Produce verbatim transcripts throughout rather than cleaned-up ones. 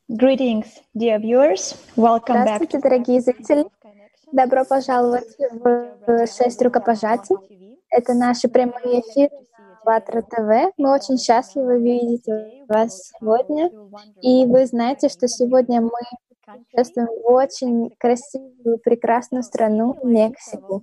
Greetings, dear viewers. Welcome back Здравствуйте, to дорогие зрители! Добро пожаловать в «Шесть рукопожатий». Это наши прямые эфиры на АЛЛАТРА ТВ. Мы очень счастливы видеть вас сегодня. И вы знаете, что сегодня мы путешествуем в очень красивую, прекрасную страну Мексику.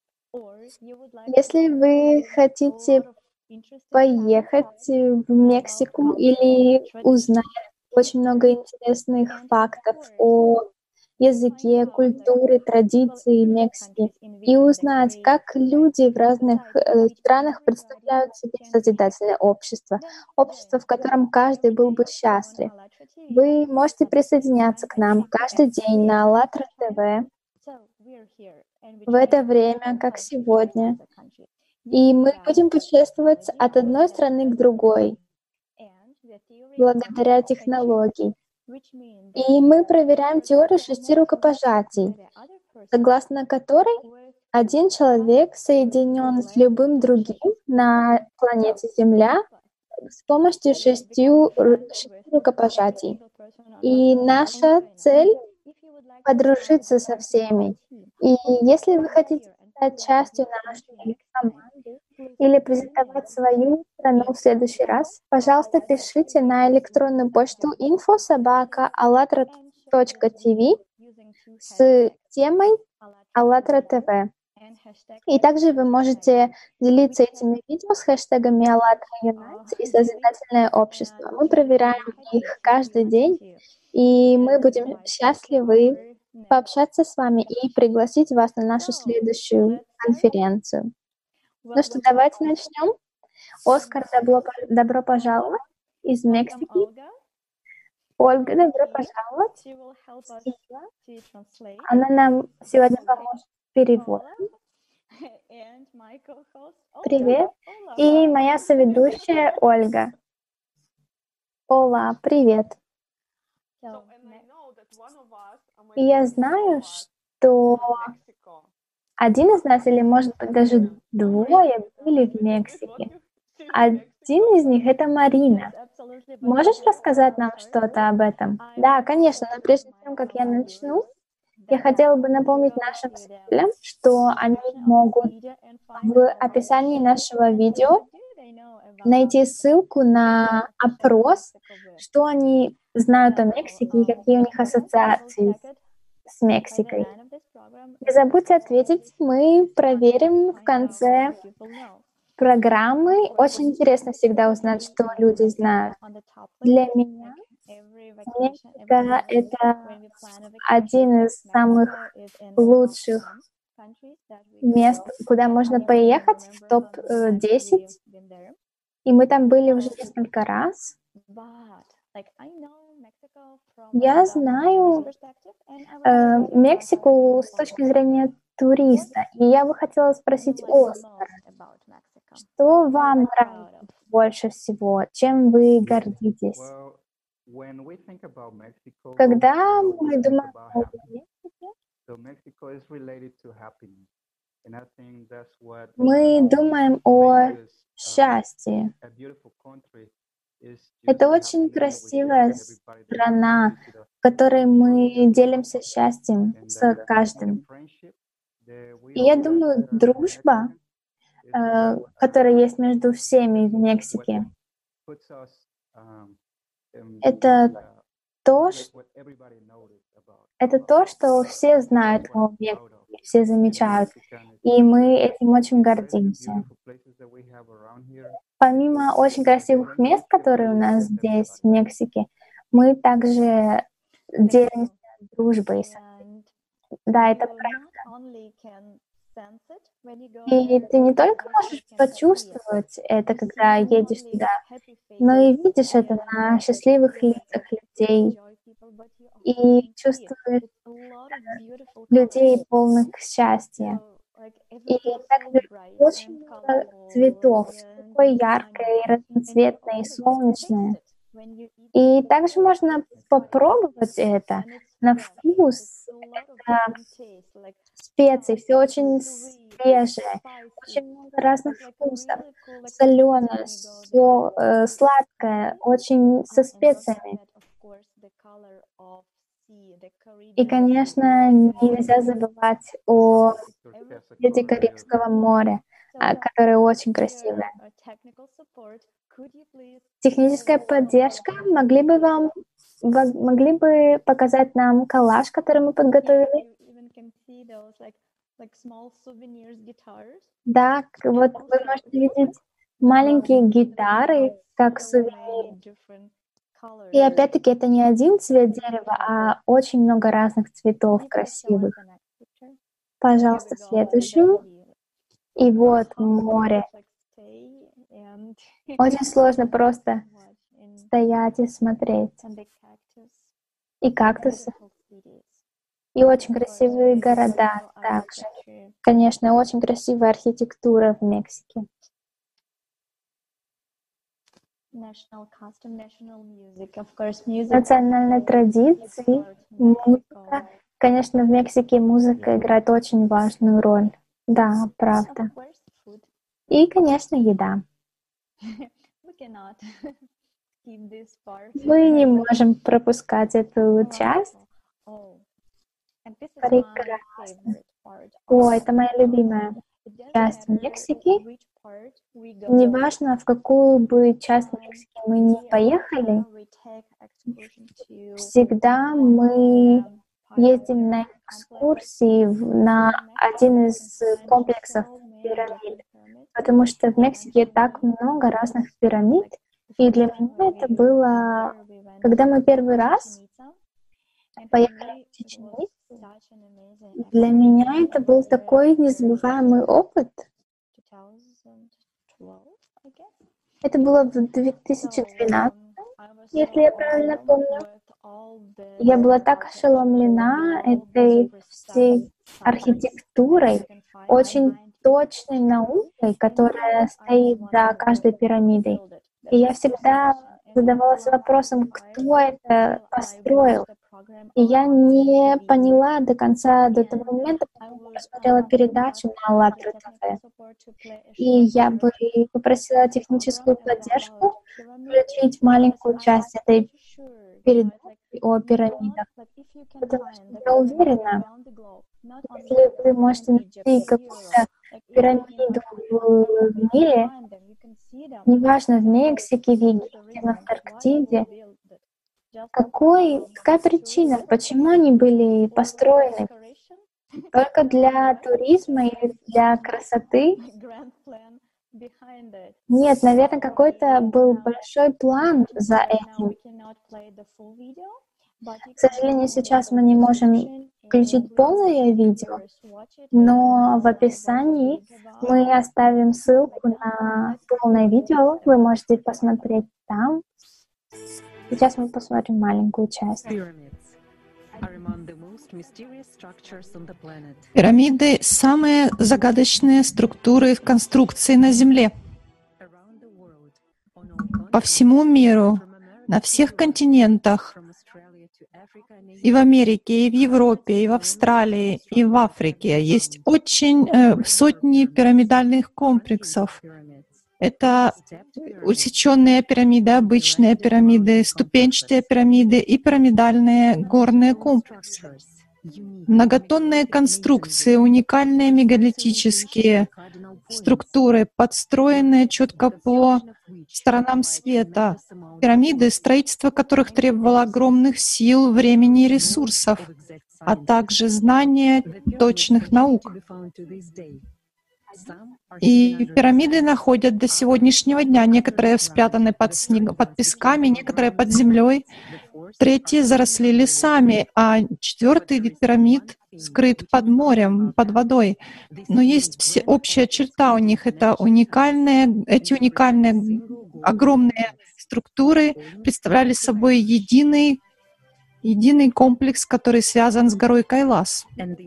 Если вы хотите поехать в Мексику или узнать очень много интересных фактов о языке, культуре, традиции Мексики и узнать, как люди в разных э, странах представляют себе созидательное общество, общество, в котором каждый был бы счастлив. Вы можете присоединяться к нам каждый день на АЛЛАТРА ТВ в это время, как сегодня. И мы будем путешествовать от одной страны к другой благодаря технологии. И мы проверяем теорию шести рукопожатий, согласно которой один человек соединен с любым другим на планете Земля с помощью шестью, шести рукопожатий. И наша цель — подружиться со всеми. И если вы хотите стать частью нашей команды или презентовать свою страну в следующий раз, пожалуйста, пишите на электронную почту инфо собака allatra точка тв с темой АЛЛАТРА ТВ. И также вы можете делиться этими видео с хэштегами АЛЛАТРА Unite и Созидательное общество. Мы проверяем их каждый день, и мы будем счастливы пообщаться с вами и пригласить вас на нашу следующую конференцию. Ну что, давайте начнем. Оскар, добро, добро пожаловать из Мексики. Ольга, добро пожаловать. Она нам сегодня поможет с переводом. Привет. И моя соведущая Ольга. Ола, привет. И я знаю, что один из нас, или может быть даже двое, были в Мексике. Один из них — это Марина. Можешь рассказать нам что-то об этом? Да, конечно, но прежде чем как я начну, я хотела бы напомнить нашим зрителям, что они могут в описании нашего видео найти ссылку на опрос, что они знают о Мексике и какие у них ассоциации с Мексикой. Не забудьте ответить, мы проверим в конце программы. Очень интересно всегда узнать, что люди знают. Для меня Мексика — это один из самых лучших мест, куда можно поехать, в топ десять. И мы там были уже несколько раз. Я знаю э, Мексику с точки зрения туриста. И я бы хотела спросить Оскара, что вам нравится больше всего? Чем вы гордитесь? Когда мы думаем о Мексике, мы думаем о счастье. Это очень красивая страна, в которой мы делимся счастьем с каждым. И я думаю, дружба, э, которая есть между всеми в Мексике, это то, что, это то, что все знают о Мексике, все замечают. И мы этим очень гордимся. Помимо очень красивых мест, которые у нас здесь, в Мексике, мы также делимся дружбой. Да, это правда. И ты не только можешь почувствовать это, когда едешь туда, но и видишь это на счастливых лицах людей. И чувствуешь людей полных счастья. И также очень много цветов, такое яркое, разноцветное и солнечное. И также можно попробовать это на вкус. Это специи, все очень свежее, очень много разных вкусов, соленое, все э, сладкое, очень со специями. И, конечно, нельзя забывать о цвете Карибского моря, а, которое очень красивое. Техническая поддержка, могли бы вам могли бы показать нам коллаж, который мы подготовили? Да, вот вы можете видеть маленькие гитары, как сувенир. И опять-таки это не один цвет дерева, а очень много разных цветов красивых. Пожалуйста, следующую. И вот море. Очень сложно просто стоять и смотреть. И кактусы. И очень красивые города также. Конечно, очень красивая архитектура в Мексике. Национальные традиции, музыка. Конечно, в Мексике музыка играет очень важную роль. Да, правда. И, конечно, еда. Мы не можем пропускать эту часть. Прекрасно. О, это моя любимая часть Мексики. Неважно, в какую бы часть Мексики мы ни поехали, всегда мы ездим на экскурсии на один из комплексов пирамид, потому что в Мексике так много разных пирамид, и для меня это было, когда мы первый раз поехали в Чечню, для меня это был такой незабываемый опыт. Это было в две тысячи двенадцатом, если я правильно помню. Я была так ошеломлена этой всей архитектурой, очень точной наукой, которая стоит за каждой пирамидой. И я всегда задавалась вопросом, кто это построил. И я не поняла до конца, до того момента, пока я посмотрела передачу на АЛЛАТРА ТВ. И я бы попросила техническую поддержку включить маленькую часть этой передачи о пирамидах. Потому что я уверена, если вы можете найти какую-то пирамиду в мире, неважно, в Мексике, в Египте, в Антарктиде, какой, какая причина, почему они были построены? Только для туризма или для красоты? Нет, наверное, какой-то был большой план за этим. К сожалению, сейчас мы не можем включить полное видео, но в описании мы оставим ссылку на полное видео, вы можете посмотреть там. Сейчас мы посмотрим маленькую часть. Пирамиды — самые загадочные структуры в конструкции на Земле. По всему миру, на всех континентах, и в Америке, и в Европе, и в Австралии, и в Африке есть очень э, сотни пирамидальных комплексов. Это усеченные пирамиды, обычные пирамиды, ступенчатые пирамиды и пирамидальные горные комплексы. Многотонные конструкции, уникальные мегалитические структуры, подстроенные четко по сторонам света. Пирамиды, строительство которых требовало огромных сил, времени и ресурсов, а также знания точных наук. И пирамиды находят до сегодняшнего дня. Некоторые спрятаны под, снег, под песками, некоторые под землей, третьи заросли лесами, а четвертый вид пирамид скрыт под морем, под водой. Но есть все, общая черта у них — это уникальные, эти уникальные огромные структуры представляли собой единый, единый комплекс, который связан с горой Кайлас.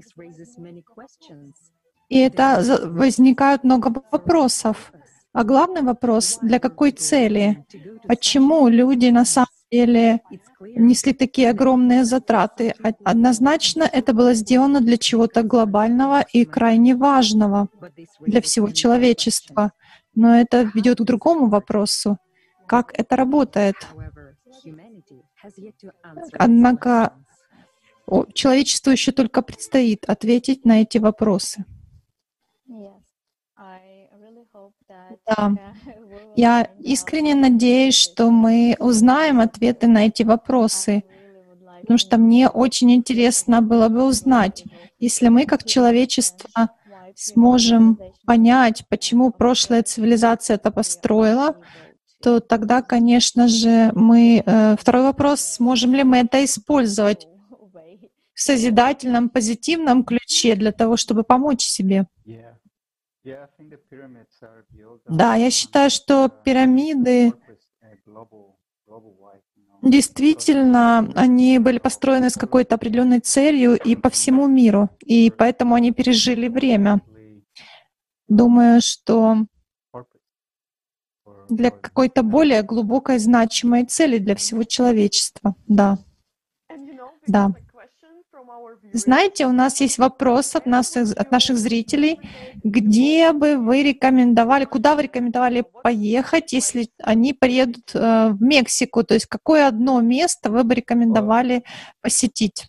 И это возникает много вопросов. А главный вопрос — для какой цели? Почему люди на самом деле несли такие огромные затраты? Однозначно это было сделано для чего-то глобального и крайне важного для всего человечества. Но это ведет к другому вопросу. Как это работает? Однако о, человечеству еще только предстоит ответить на эти вопросы. Да. Я искренне надеюсь, что мы узнаем ответы на эти вопросы, потому что мне очень интересно было бы узнать, если мы как человечество сможем понять, почему прошлая цивилизация это построила, то тогда, конечно же, мы... Э, второй вопрос, сможем ли мы это использовать в созидательном, позитивном ключе для того, чтобы помочь себе. Да, я считаю, что пирамиды действительно, они были построены с какой-то определенной целью и по всему миру, и поэтому они пережили время. Думаю, что для какой-то более глубокой значимой цели для всего человечества. Да. Да. Знаете, у нас есть вопрос от, нас, от наших зрителей, где бы вы рекомендовали, куда вы рекомендовали поехать, если они приедут э, в Мексику, то есть какое одно место вы бы рекомендовали посетить?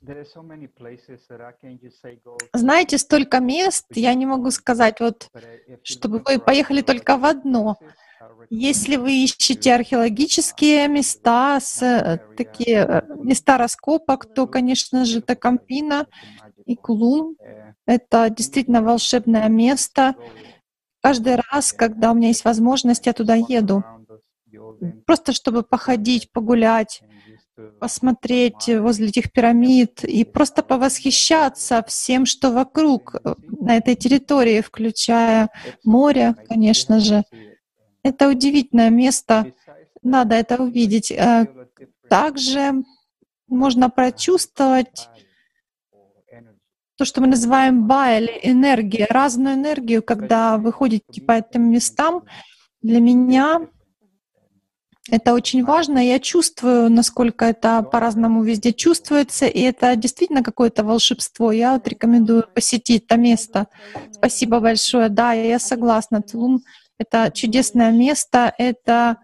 Знаете, столько мест, я не могу сказать, вот, чтобы вы поехали только в одно. Если вы ищете археологические места, с, такие места раскопок, то, конечно же, это Кампино и Кулум. Это действительно волшебное место. Каждый раз, когда у меня есть возможность, я туда еду. Просто чтобы походить, погулять, посмотреть возле этих пирамид и просто повосхищаться всем, что вокруг на этой территории, включая море, конечно же. Это удивительное место, надо это увидеть. Также можно прочувствовать то, что мы называем ба, или энергия, разную энергию, когда вы ходите по этим местам. Для меня это очень важно. Я чувствую, насколько это по-разному везде чувствуется, и это действительно какое-то волшебство. Я вот рекомендую посетить это место. Спасибо большое. Да, я согласна. Тулум — это чудесное место, это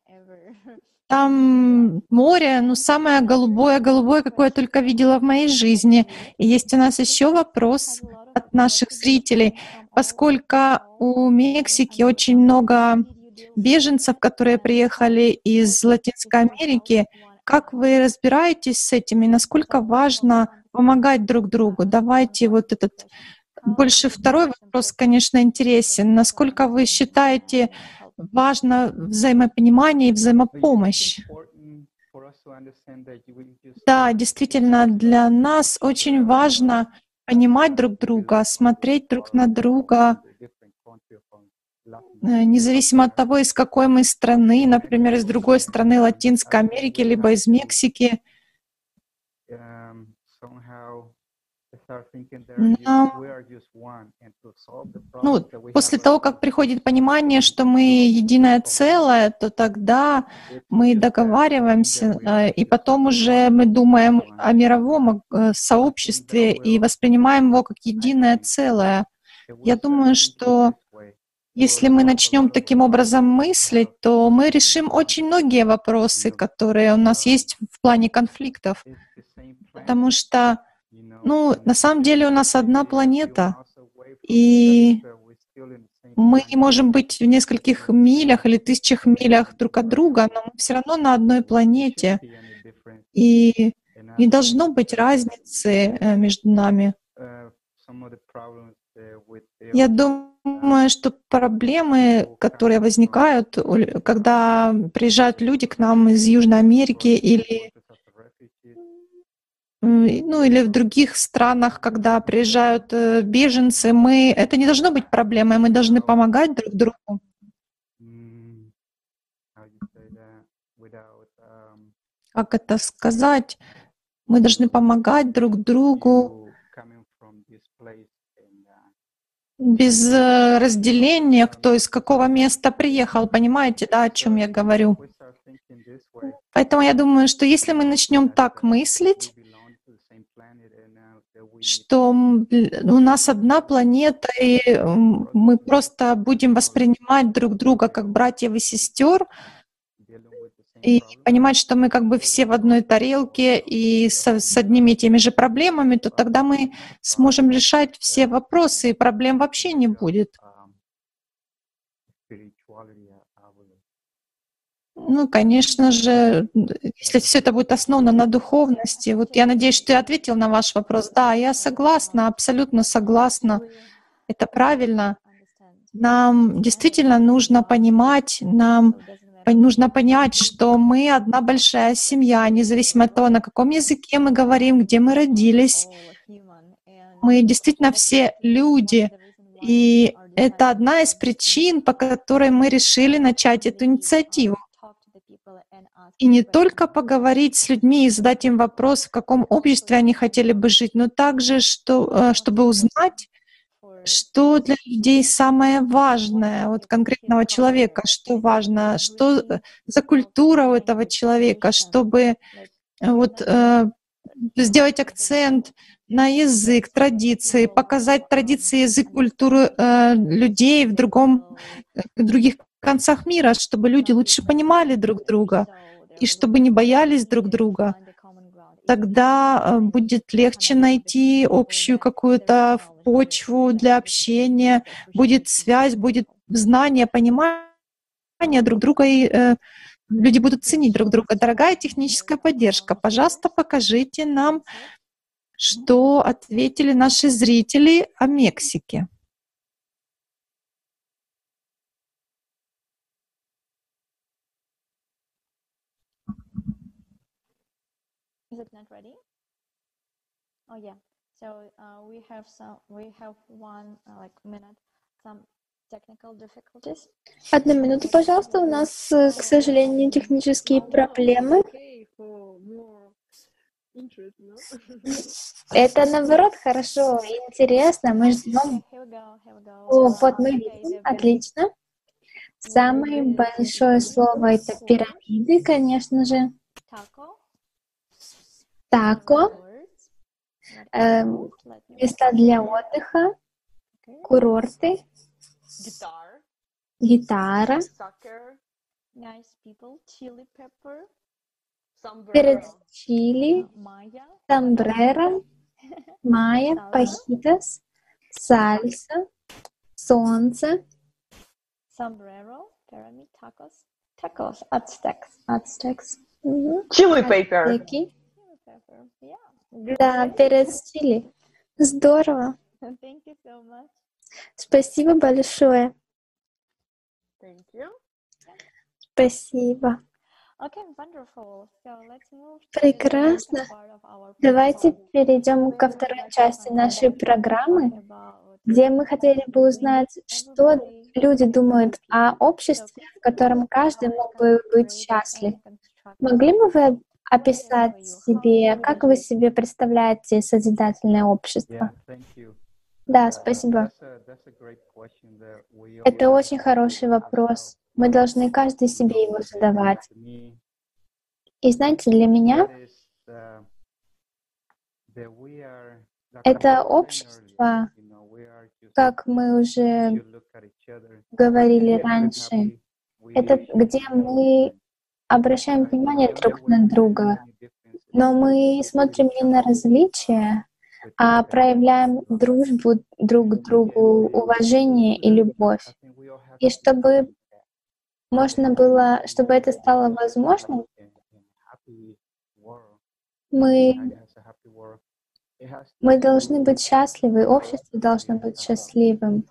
там море, ну, самое голубое-голубое, какое я только видела в моей жизни. И есть у нас еще вопрос от наших зрителей. Поскольку у Мексики очень много беженцев, которые приехали из Латинской Америки, как вы разбираетесь с этим и насколько важно помогать друг другу? Давайте вот этот... Больше второй вопрос, конечно, интересен. Насколько вы считаете важно взаимопонимание и взаимопомощь? Да, действительно, для нас очень важно понимать друг друга, смотреть друг на друга, независимо от того, из какой мы страны, например, из другой страны Латинской Америки, либо из Мексики. Но, ну, после того, как приходит понимание, что мы единое целое, то тогда мы договариваемся, и потом уже мы думаем о мировом сообществе и воспринимаем его как единое целое. Я думаю, что если мы начнем таким образом мыслить, то мы решим очень многие вопросы, которые у нас есть в плане конфликтов, потому что Ну, на самом деле у нас одна планета, и мы можем быть в нескольких милях или тысячах милях друг от друга, но мы все равно на одной планете, и не должно быть разницы между нами. Я думаю, что проблемы, которые возникают, когда приезжают люди к нам из Южной Америки или ну или в других странах, когда приезжают беженцы, мы это не должно быть проблемой, мы должны помогать друг другу. Как это сказать? Мы должны помогать друг другу без разделения, кто из какого места приехал. Понимаете, да, о чем я говорю? Поэтому я думаю, что если мы начнем так мыслить, что у нас одна планета, и мы просто будем воспринимать друг друга как братьев и сестер, и понимать, что мы как бы все в одной тарелке и с, с одними и теми же проблемами, то тогда мы сможем решать все вопросы, и проблем вообще не будет. Ну, конечно же, если все это будет основано на духовности, вот я надеюсь, что я ответил на ваш вопрос. Да, я согласна, абсолютно согласна. Это правильно. Нам действительно нужно понимать, нам нужно понять, что мы одна большая семья, независимо от того, на каком языке мы говорим, где мы родились. Мы действительно все люди. И это одна из причин, по которой мы решили начать эту инициативу. И не только поговорить с людьми и задать им вопрос, в каком обществе они хотели бы жить, но также, что, чтобы узнать, что для людей самое важное, вот конкретного человека, что важно, что за культура у этого человека, чтобы вот э, сделать акцент на язык, традиции, показать традиции, язык, культуру э, людей в другом, в других концах мира, чтобы люди лучше понимали друг друга и чтобы не боялись друг друга. Тогда будет легче найти общую какую-то почву для общения, будет связь, будет знание, понимание друг друга, и э, люди будут ценить друг друга. Дорогая техническая поддержка, пожалуйста, покажите нам, что ответили наши зрители о Мексике. Is it not ready? Oh yeah. So uh, we have some. We have one uh, like minute. Some technical difficulties. Одну минуту, пожалуйста. У нас, к сожалению, технические проблемы. Это, наоборот, хорошо, интересно. Мы ждем. О, вот мы видим. Отлично. Самое большое слово — это пирамиды, конечно же. Тако, э, места для отдыха, курорты, гитара, перец чили, сомбреро, майя, пахитас, сальса, солнце. Sombrero, pyramid, tacos, tacos, Aztecs, Aztecs. Chili paper. Ацтеки. Да, перец чили. Здорово. Thank you so much. Спасибо большое. Thank you. Спасибо. Okay, wonderful. So let's move to Прекрасно. the part of our Давайте перейдем ко второй части нашей программы, где мы хотели бы узнать, что люди думают о обществе, в котором каждый мог бы быть счастлив. Могли бы вы описать себе, как вы себе представляете созидательное общество? Да, спасибо. Это очень хороший вопрос. Мы должны каждый себе его задавать. И знаете, для меня это общество, как мы уже говорили раньше, это где мы обращаем внимание друг на друга, но мы смотрим не на различия, а проявляем дружбу друг к другу, уважение и любовь. И чтобы можно было, чтобы это стало возможным, мы, мы должны быть счастливы, общество должно быть счастливым.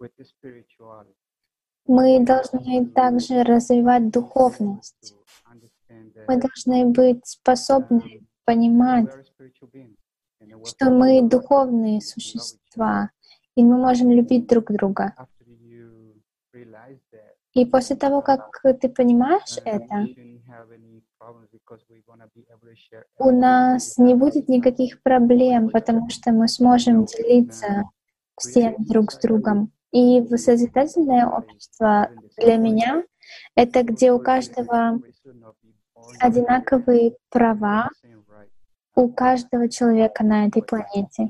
Мы должны также развивать духовность. Мы должны быть способны понимать, что мы духовные существа, и мы можем любить друг друга. И после того, как ты понимаешь это, у нас не будет никаких проблем, потому что мы сможем делиться всем друг с другом. И созидательное общество для меня — это где у каждого одинаковые права, у каждого человека на этой планете.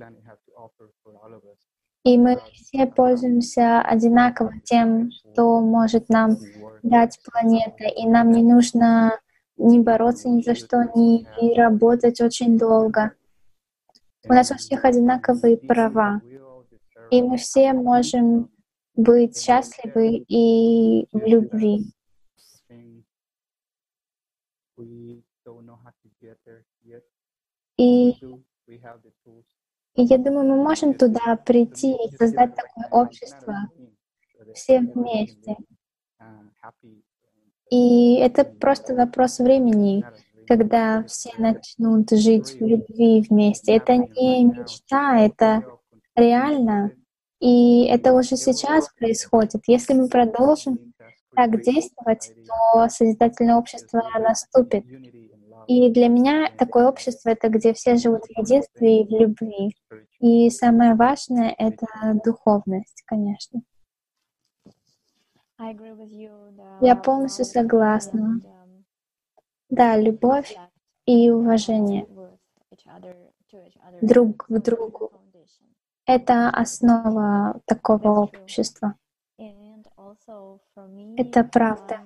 И мы все пользуемся одинаково тем, что может нам дать планета, и нам не нужно не бороться ни за что, не работать очень долго. У нас у всех одинаковые права, и мы все можем быть счастливы и в любви. И, и я думаю, мы можем туда прийти и создать такое общество все вместе. И это просто вопрос времени, когда все начнут жить в любви вместе. Это не мечта, это реально. И это уже сейчас происходит. Если мы продолжим так действовать, то созидательное общество наступит. И для меня такое общество — это где все живут в единстве и в любви. И самое важное — это духовность, конечно. Я полностью согласна. Да, любовь и уважение друг к другу — это основа такого общества. Это правда.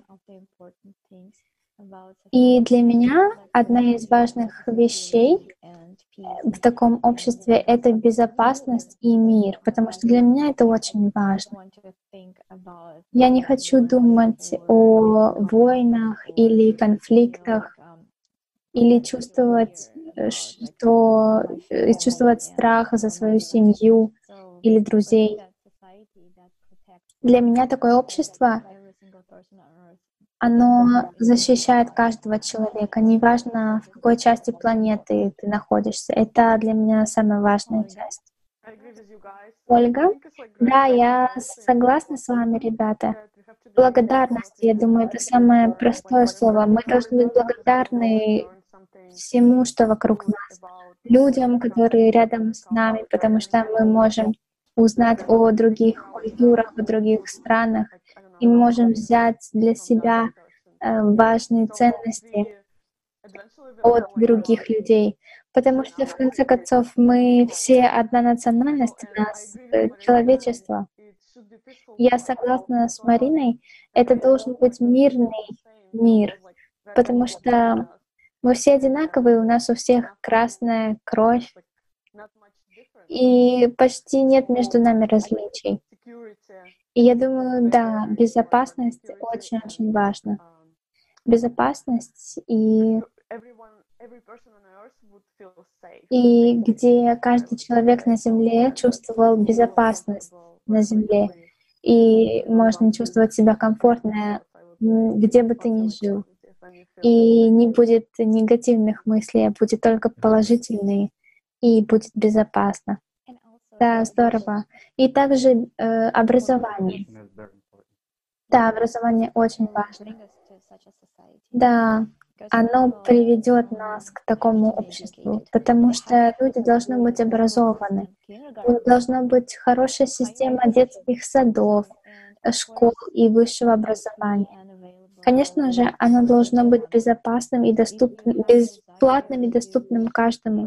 И для меня одна из важных вещей в таком обществе — это безопасность и мир, потому что для меня это очень важно. Я не хочу думать о войнах или конфликтах, или чувствовать, что чувствовать страх за свою семью или друзей. Для меня такое общество, оно защищает каждого человека, неважно, в какой части планеты ты находишься. Это для меня самая важная часть. Ольга? Да, я согласна с вами, ребята. Благодарность, я думаю, это самое простое слово. Мы должны быть благодарны всему, что вокруг нас, людям, которые рядом с нами, потому что мы можем узнать о других культурах, о других странах, и мы можем взять для себя э, важные ценности от других людей. Потому что, в конце концов, мы все одна национальность, у нас э, человечество. Я согласна с Мариной, это должен быть мирный мир, потому что мы все одинаковые, у нас у всех красная кровь, и почти нет между нами различий. И я думаю, да, безопасность очень-очень важна. Безопасность и и где каждый человек на Земле чувствовал безопасность на Земле, и можно чувствовать себя комфортно, где бы ты ни жил. И не будет негативных мыслей, а будет только положительные, и будет безопасно. Да, здорово. И также э, образование. Да, образование очень важно. Да, оно приведет нас к такому обществу, потому что люди должны быть образованы. Должна быть хорошая система детских садов, школ и высшего образования. Конечно же, оно должно быть безопасным и доступным, бесплатным и доступным каждому.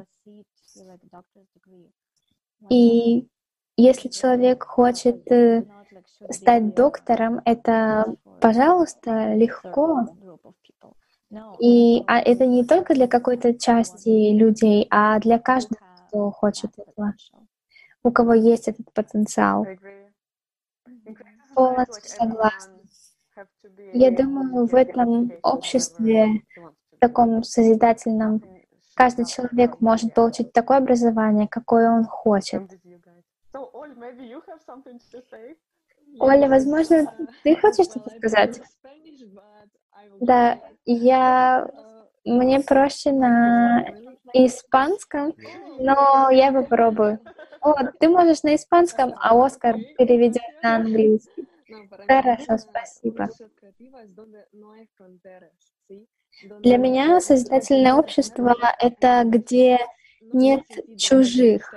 И если человек хочет э, стать доктором, это, пожалуйста, легко. И а это не только для какой-то части людей, а для каждого, кто хочет этого, у кого есть этот потенциал. Полностью согласна. Я думаю, в этом обществе, в таком созидательном, каждый человек может получить такое образование, какое он хочет. Оля, возможно, ты хочешь что-то сказать? Да, я... Мне проще на испанском, но я попробую. О, ты можешь на испанском, а Оскар переведет на английский. Хорошо, спасибо. Для меня созидательное общество — это где нет чужих.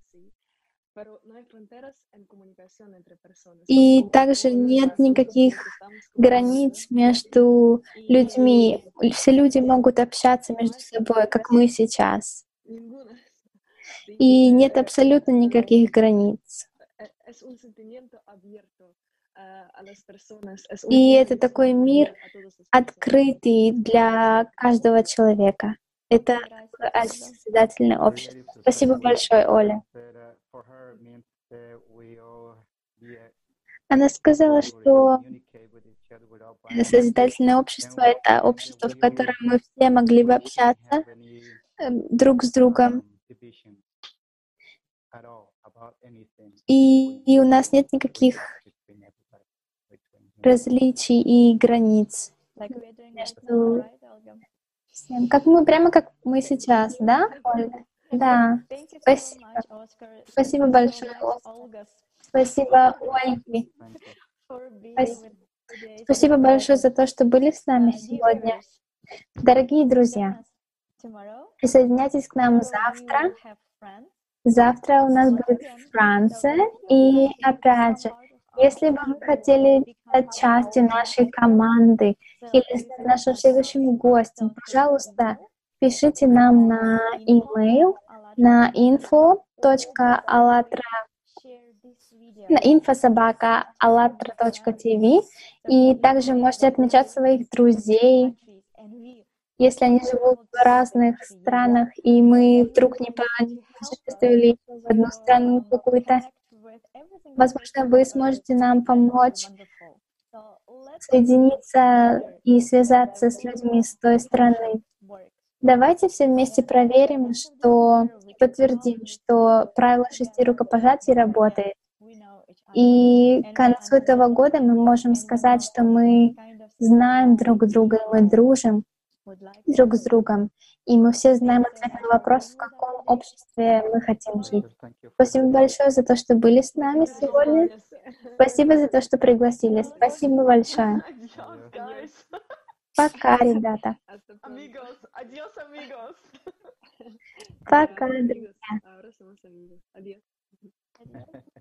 И также нет никаких границ между людьми. Все люди могут общаться между собой, как мы сейчас. И нет абсолютно никаких границ. И это такой мир открытый для каждого человека. Это такое созидательное общество. Спасибо большое, Оля. Она сказала, что созидательное общество — это общество, в котором мы все могли бы общаться э, друг с другом. И, и у нас нет никаких различий и границ между всем. Как мы, прямо как мы сейчас, да, Ольга? Да. Спасибо. Спасибо большое, Оскар. Спасибо, Ольге. Спасибо. Спасибо большое за то, что были с нами сегодня. Дорогие друзья, присоединяйтесь к нам завтра. Завтра у нас будет Франция. И опять же, если бы вы хотели стать частью нашей команды или стать нашим следующим гостем, пожалуйста, пишите нам на e-mail на info точка allatra на info собака allatra точка tv, и также можете отмечать своих друзей, если они живут в разных странах, и мы вдруг не путешествовали в одну страну какую-то. Возможно, вы сможете нам помочь соединиться и связаться с людьми с той страны. Давайте все вместе проверим, что и подтвердим, что правило шести рукопожатий работает. И к концу этого года мы можем сказать, что мы знаем друг друга, и мы дружим друг с другом, и мы все знаем ответ на вопрос, в каком обществе мы хотим жить. Спасибо большое за то, что были с нами сегодня. Спасибо за то, что пригласили. Спасибо большое. Пока, ребята. Пока, друзья.